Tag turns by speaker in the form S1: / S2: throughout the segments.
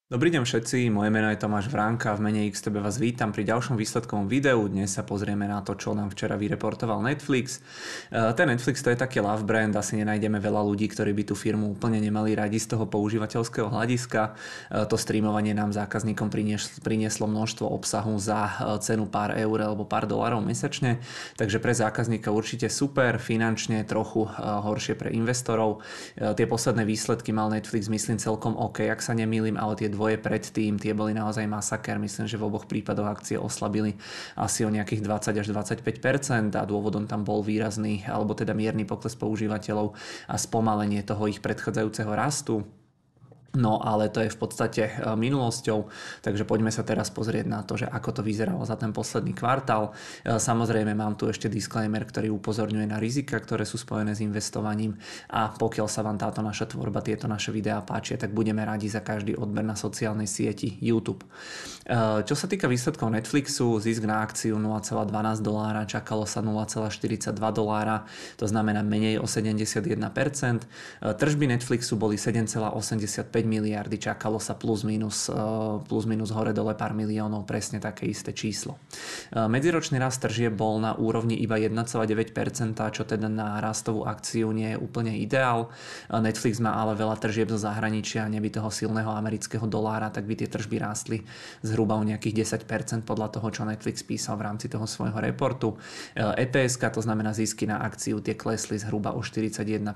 S1: Dobrý deň všetci, moje meno je Tomáš Vránka, v mene XTB vás vítam pri ďalšom výsledkovom videu. Dnes sa pozrieme na to, čo nám včera vyreportoval Netflix. Ten Netflix to je taký love brand, asi nenájdeme veľa ľudí, ktorí by tú firmu úplne nemali radi z toho používateľského hľadiska. To streamovanie nám zákazníkom prinieslo množstvo obsahu za cenu pár eur alebo pár dolárov mesačne, takže pre zákazníka určite super, finančne trochu horšie pre investorov. Tie posledné výsledky mal Netflix, myslím, celkom OK, ak sa nemýlim, ale tie dvoje predtým, tie boli naozaj masaker. Myslím, že v oboch prípadoch akcie oslabili asi o nejakých 20 až 25% a dôvodom tam bol výrazný, alebo teda mierny pokles používateľov a spomalenie toho ich predchádzajúceho rastu. No ale to je v podstate minulosťou, takže poďme sa teraz pozrieť na to, že ako to vyzeralo za ten posledný kvartál. Samozrejme mám tu ešte disclaimer, ktorý upozorňuje na rizika, ktoré sú spojené s investovaním, a pokiaľ sa vám táto naša tvorba, tieto naše videá páčia, tak budeme radi za každý odber na sociálnej sieti YouTube. Čo sa týka výsledkov Netflixu, zisk na akciu $0,12, čakalo sa $0,42, to znamená menej o 71%. Tržby Netflixu boli 7,85 miliardy, čakalo sa plus minus hore dole pár miliónov, presne také isté číslo. Medziročný rast tržieb bol na úrovni iba 1,9%, čo teda na rastovú akciu nie je úplne ideál. Netflix má ale veľa tržieb zo zahraničia, neby toho silného amerického dolára, tak by tie tržby rástli zhruba o nejakých 10% podľa toho, čo Netflix písal v rámci toho svojho reportu. EPS, to znamená zisky na akciu, tie klesli zhruba o 41%.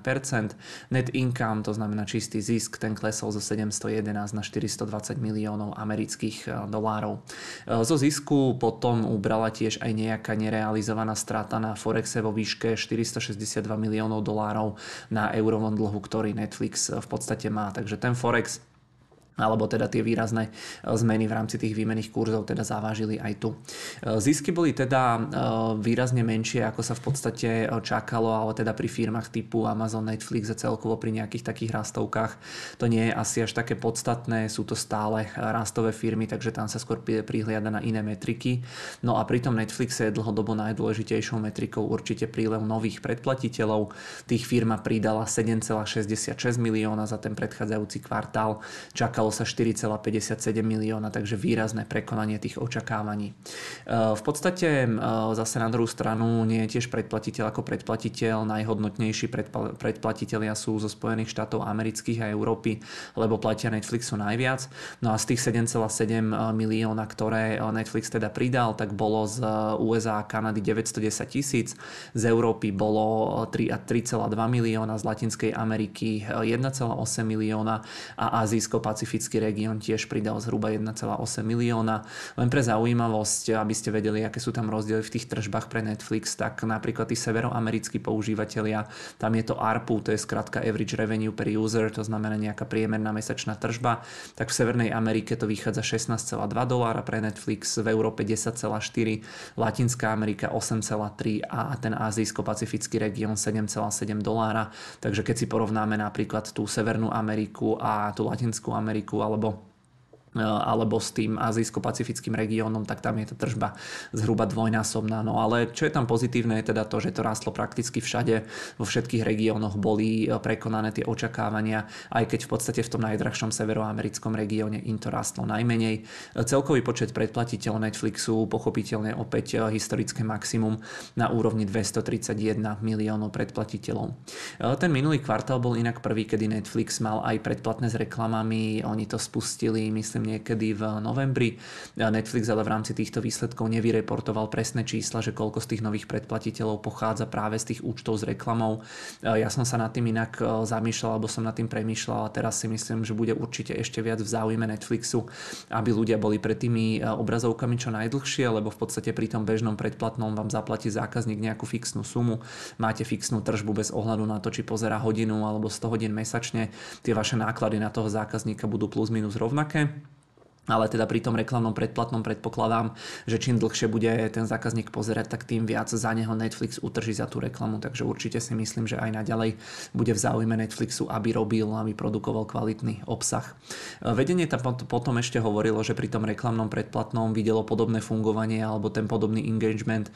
S1: Net income, to znamená čistý zisk, ten klesol zo 711 na 420 miliónov amerických dolárov. Zo zisku potom ubrala tiež aj nejaká nerealizovaná strata na Forexe vo výške 462 miliónov dolárov na eurovom dlhu, ktorý Netflix v podstate má. Takže ten Forex alebo teda tie výrazné zmeny v rámci tých výmenných kurzov teda zavážili aj tu. Zisky boli teda výrazne menšie, ako sa v podstate čakalo, ale teda pri firmách typu Amazon, Netflix a celkovo pri nejakých takých rastovkách to nie je asi až také podstatné, sú to stále rastové firmy, takže tam sa skôr prihliada na iné metriky. No a pri tom Netflixe je dlhodobo najdôležitejšou metrikou určite prílev nových predplatiteľov. Tých firma pridala 7,66 milióna za ten predchádzajúci kvartál, čakalo sa 4,57 milióna, takže výrazné prekonanie tých očakávaní. V podstate zase na druhú stranu nie je tiež predplatiteľ ako predplatiteľ. Najhodnotnejší predplatitelia sú zo Spojených štátov amerických a Európy, lebo platia Netflixu najviac. No a z tých 7,7 milióna, ktoré Netflix teda pridal, tak bolo z USA a Kanady 910 000, z Európy bolo 3,2 milióna, z Latinskej Ameriky 1,8 milióna a azijsko-pacifický región tiež pridal zhruba 1,8 milióna. Len pre zaujímavosť, aby ste vedeli, aké sú tam rozdiely v tých tržbách pre Netflix, tak napríklad tí severoamerickí používatelia, tam je to ARPU, to je skrátka Average Revenue per User, to znamená nejaká priemerná mesačná tržba, tak v Severnej Amerike to vychádza $16,2 pre Netflix, v Európe 10,4, Latinská Amerika 8,3 a ten azijsko-pacifický región $7,7. Takže keď si porovnáme napríklad tú Severnú Ameriku a tú Latinskú Ameriku alebo s tým azijsko-pacifickým regiónom, tak tam je tá tržba zhruba dvojnásobná. No ale čo je tam pozitívne je teda to, že to rástlo prakticky všade, vo všetkých regiónoch boli prekonané tie očakávania, aj keď v podstate v tom najdrahšom severoamerickom regióne im to rástlo najmenej. Celkový počet predplatiteľov Netflixu pochopiteľne opäť historické maximum na úrovni 231 miliónov predplatiteľov. Ten minulý kvartál bol inak prvý, kedy Netflix mal aj predplatné s reklamami, oni to spustili, myslím, niekedy v novembri. Netflix ale v rámci týchto výsledkov nevyreportoval presné čísla, že koľko z tých nových predplatiteľov pochádza práve z tých účtov s reklamou. Ja som sa nad tým inak zamýšľal, alebo som nad tým premýšľal a teraz si myslím, že bude určite ešte viac v záujme Netflixu, aby ľudia boli pred tými obrazovkami čo najdlhšie, lebo v podstate pri tom bežnom predplatnom vám zaplatí zákazník nejakú fixnú sumu, máte fixnú tržbu bez ohľadu na to, či pozerá hodinu alebo 100 hodín mesačne. Tie vaše náklady na toho zákazníka budú plus minus rovnaké. Ale teda pri tom reklamnom predplatnom predpokladám, že čím dlhšie bude ten zákazník pozerať, tak tým viac za neho Netflix utrží za tú reklamu. Takže určite si myslím, že aj naďalej bude v záujme Netflixu, aby produkoval kvalitný obsah. Vedenie tam potom ešte hovorilo, že pri tom reklamnom predplatnom videlo podobné fungovanie alebo ten podobný engagement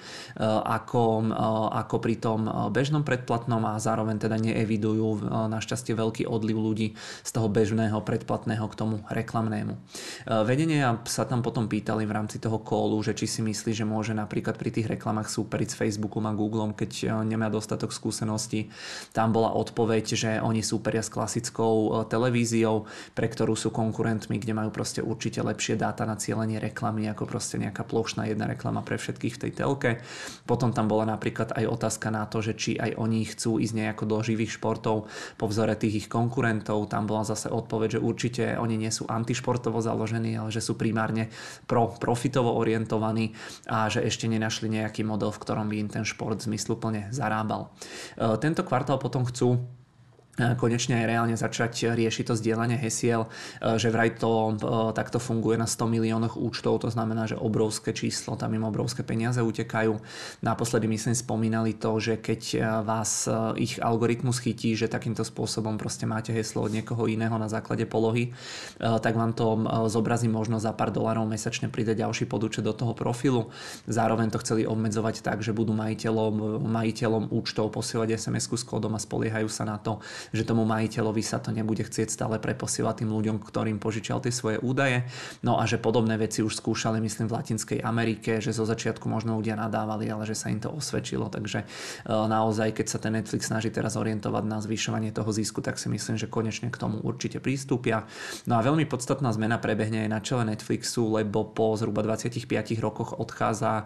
S1: ako pri tom bežnom predplatnom a zároveň teda neevidujú našťastie veľký odliv ľudí z toho bežného predplatného k tomu reklamnému. Vedenia sa tam potom pýtali v rámci toho callu, že či si myslí, že môže napríklad pri tých reklamách súperiť s Facebookom a Googlom, keď nemá dostatok skúseností. Tam bola odpoveď, že oni súperia s klasickou televíziou, pre ktorú sú konkurentmi, kde majú proste určite lepšie dáta na cielenie reklamy ako proste nejaká plošná jedna reklama pre všetkých v tej telke. Potom tam bola napríklad aj otázka na to, že či aj oni chcú ísť nejako do živých športov po vzore tých ich konkurentov. Tam bola zase odpoveď, že určite oni nie sú antišportovo založení, ale že sú primárne profitovo orientovaní a že ešte nenašli nejaký model, v ktorom by im ten šport zmysluplne zarábal. Tento kvartál potom chcú konečne aj reálne začať riešiť to zdieľanie hesiel, že vraj to takto funguje na 100 miliónoch účtov, to znamená, že obrovské číslo, tam im obrovské peniaze utekajú. Naposledy myslím spomínali to, že keď vás ich algoritmus chytí, že takýmto spôsobom proste máte heslo od niekoho iného na základe polohy, tak vám to zobrazí možno za pár dolárov mesačne pridať ďalší podúčet do toho profilu. Zároveň to chceli obmedzovať tak, že budú majiteľom účtov posielať SMS-ku s kódom a spoliehajú sa na to, že tomu majiteľovi sa to nebude chcieť stále preposielať tým ľuďom, ktorým požičal tie svoje údaje. No a že podobné veci už skúšali, myslím, v Latinskej Amerike, že zo začiatku možno ľudia nadávali, ale že sa im to osvedčilo. Takže naozaj, keď sa ten Netflix snaží teraz orientovať na zvyšovanie toho zisku, tak si myslím, že konečne k tomu určite prístupia. No a veľmi podstatná zmena prebehne aj na čele Netflixu, lebo po zhruba 25 rokoch odchádza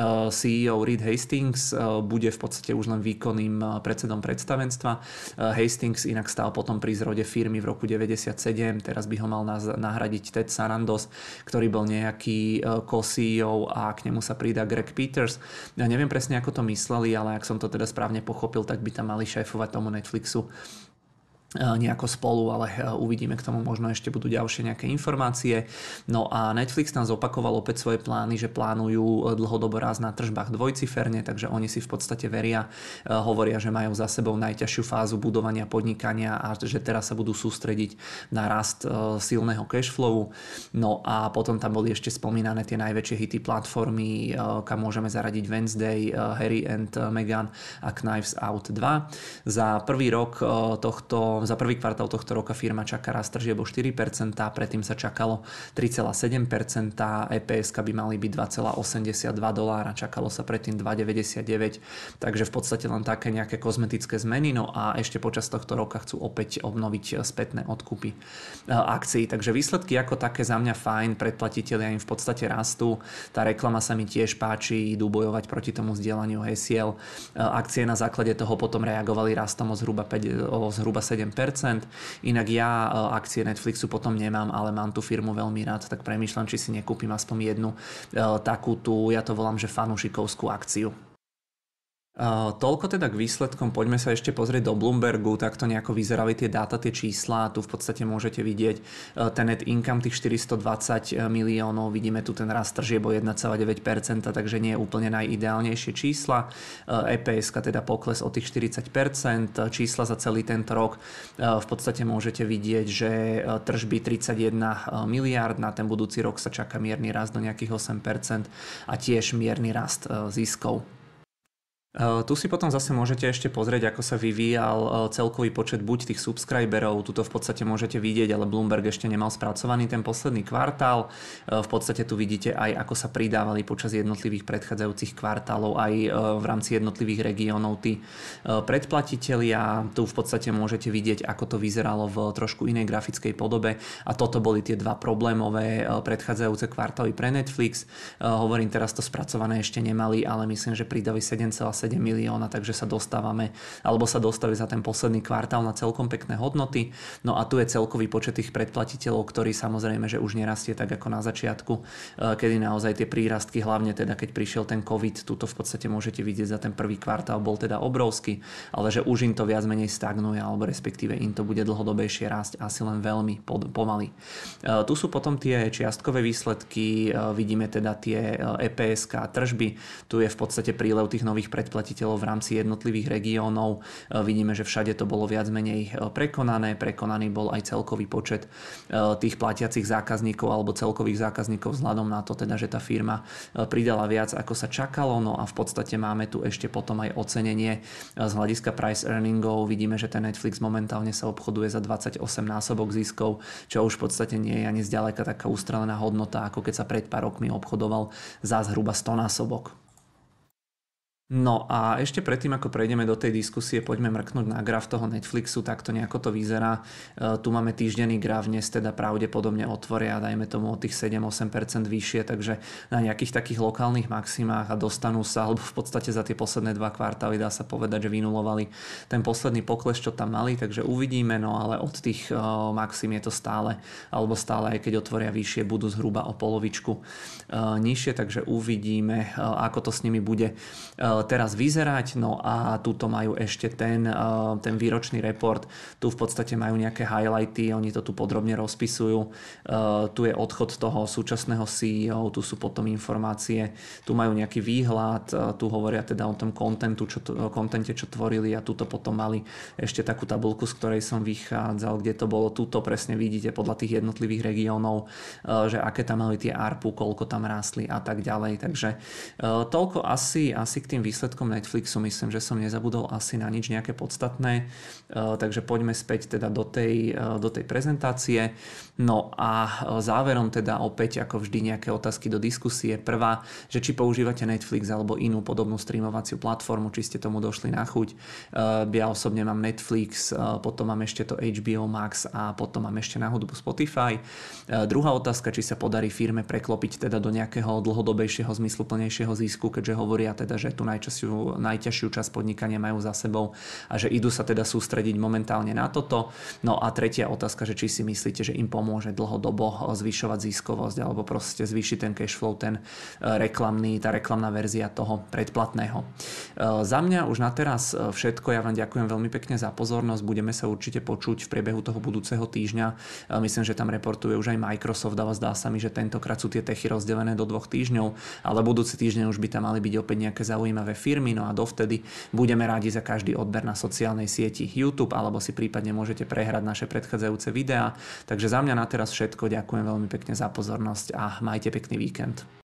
S1: CEO Reed Hastings, bude v podstate už len výkonným predsedom predstavenstva. Hastings inak stál potom pri zrode firmy v roku 97, teraz by ho mal nahradiť Ted Sarandos, ktorý bol nejaký co-CEO a k nemu sa pridá Greg Peters. Ja neviem presne, ako to mysleli, ale ak som to teda správne pochopil, tak by tam mali šéfovať tomu Netflixu nejako spolu, ale uvidíme, k tomu možno ešte budú ďalšie nejaké informácie. No a Netflix nám zopakoval opäť svoje plány, že plánujú dlhodobo rast na tržbách dvojciferne, takže oni si v podstate veria, hovoria, že majú za sebou najťažšiu fázu budovania podnikania a že teraz sa budú sústrediť na rast silného cashflowu. No a potom tam boli ešte spomínané tie najväčšie hity platformy, kam môžeme zaradiť Wednesday, Harry and Meghan a Knives Out 2. Za prvý kvartál tohto roka firma čaká rast tržieb o 4%, predtým sa čakalo 3,7%, EPS by mali byť $2,82, čakalo sa predtým 2,99, takže v podstate len také nejaké kozmetické zmeny, no a ešte počas tohto roka chcú opäť obnoviť spätné odkupy akcií, takže výsledky ako také za mňa fajn, predplatitelia im v podstate rastú, tá reklama sa mi tiež páči, idú bojovať proti tomu zdieľaniu hesiel, akcie na základe toho potom reagovali rastom o zhruba 7%. Inak ja akcie Netflixu potom nemám, ale mám tú firmu veľmi rád, tak premýšľam, či si nekúpim aspoň jednu takú tú, ja to volám, že fanúšikovskú akciu. Toľko teda k výsledkom, poďme sa ešte pozrieť do Bloombergu, takto nejako vyzerali tie dáta, tie čísla, tu v podstate môžete vidieť ten net income tých 420 miliónov, vidíme tu ten rast tržieb o 1,9%, takže nie je úplne najideálnejšie čísla, EPS teda pokles o tých 40%, čísla za celý tento rok, v podstate môžete vidieť, že tržby 31 miliárd, na ten budúci rok sa čaká mierny rast do nejakých 8% a tiež mierny rast ziskov. Tu si potom zase môžete ešte pozrieť, ako sa vyvíjal celkový počet buď tých subscriberov, tuto v podstate môžete vidieť, ale Bloomberg ešte nemal spracovaný ten posledný kvartál. V podstate tu vidíte aj, ako sa pridávali počas jednotlivých predchádzajúcich kvartálov aj v rámci jednotlivých regiónov tí predplatitelia. Tu v podstate môžete vidieť, ako to vyzeralo v trošku inej grafickej podobe a toto boli tie dva problémové predchádzajúce kvartály pre Netflix. Hovorím, teraz to spracované ešte nemali, ale myslím, že pridali 7,7 milióna, takže sa dostáva za ten posledný kvartál na celkom pekné hodnoty. No a tu je celkový počet tých predplatiteľov, ktorý samozrejme, že už nerastie tak ako na začiatku, kedy naozaj tie prírastky, hlavne teda keď prišiel ten COVID, tuto v podstate môžete vidieť za ten prvý kvartál bol teda obrovský, ale že už im to viac menej stagnuje, alebo respektíve im to bude dlhodobejšie rásť asi len veľmi pomaly. Tu sú potom tie čiastkové výsledky, vidíme teda tie EPSK tržby, tu je v podstate prílev tých nových predplatiteľov v rámci jednotlivých regiónov. Vidíme, že všade to bolo viac menej prekonaný bol aj celkový počet tých platiacich zákazníkov alebo celkových zákazníkov vzhľadom na to teda, že tá firma pridala viac ako sa čakalo, no a v podstate máme tu ešte potom aj ocenenie z hľadiska price earningov. Vidíme, že ten Netflix momentálne sa obchoduje za 28 násobok ziskov, čo už v podstate nie je ani zďaleka taká ustrelená hodnota, ako keď sa pred pár rokmi obchodoval za zhruba 100 násobok. No a ešte predtým, ako prejdeme do tej diskusie, poďme mrknúť na graf toho Netflixu, takto nejako to vyzerá. Tu máme týždenný graf, dnes teda pravdepodobne otvoria, dajme tomu o tých 7-8% vyššie, takže na nejakých takých lokálnych maximách a dostanú sa, alebo v podstate za tie posledné 2 kvartály dá sa povedať, že vynulovali ten posledný pokles, čo tam mali, takže uvidíme, no ale od tých maxim je to stále, alebo stále aj keď otvoria vyššie, budú zhruba o polovičku nižšie, takže uvidíme, ako to s nimi bude teraz vyzerať. No a tuto majú ešte ten výročný report. Tu v podstate majú nejaké highlighty, oni to tu podrobne rozpisujú. Tu je odchod toho súčasného CEO, tu sú potom informácie, tu majú nejaký výhľad, tu hovoria teda o tom kontente, čo tvorili, a tuto potom mali ešte takú tabuľku, z ktorej som vychádzal, kde to bolo, tuto presne vidíte podľa tých jednotlivých regiónov, že aké tam mali tie ARPU, koľko tam rástli a tak ďalej. Takže toľko asi k tým výsledkom Netflixu, myslím, že som nezabudol asi na nič nejaké podstatné, takže poďme späť teda do tej prezentácie. No a záverom teda opäť ako vždy nejaké otázky do diskusie. Prvá, že či používate Netflix alebo inú podobnú streamovaciu platformu, či ste tomu došli na chuť. Ja osobne mám Netflix, potom mám ešte to HBO Max a potom mám ešte na hudbu Spotify. Druhá otázka, či sa podarí firme preklopiť teda do nejakého dlhodobejšieho, zmysluplnejšieho zisku, keďže hovoria teda, že tu najťažšiu časť podnikania majú za sebou a že idú sa teda sústrediť momentálne na toto. No a tretia otázka, že či si myslíte, že im pomôže dlhodobo zvyšovať ziskovosť alebo proste zvýšiť ten cash flow, tá reklamná verzia toho predplatného. Za mňa už na teraz všetko. Ja vám ďakujem veľmi pekne za pozornosť. Budeme sa určite počuť v priebehu toho budúceho týždňa. Myslím, že tam reportuje už aj Microsoft, ale zdá sa mi, že tentokrát sú tie techy rozdelené do 2 týždňov, ale budúci týždeň už by tam mali byť opäť nejaké zaujímavé firmy, no a dovtedy budeme rádi za každý odber na sociálnej sieti YouTube, alebo si prípadne môžete prehrať naše predchádzajúce videá. Takže za mňa na teraz všetko, ďakujem veľmi pekne za pozornosť a majte pekný víkend.